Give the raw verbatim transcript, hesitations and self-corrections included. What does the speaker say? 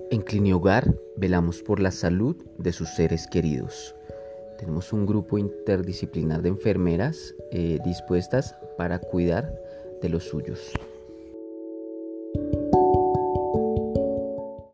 En Clinihogar velamos por la salud de sus seres queridos. Tenemos un grupo interdisciplinar de enfermeras eh, dispuestas para cuidar de los suyos.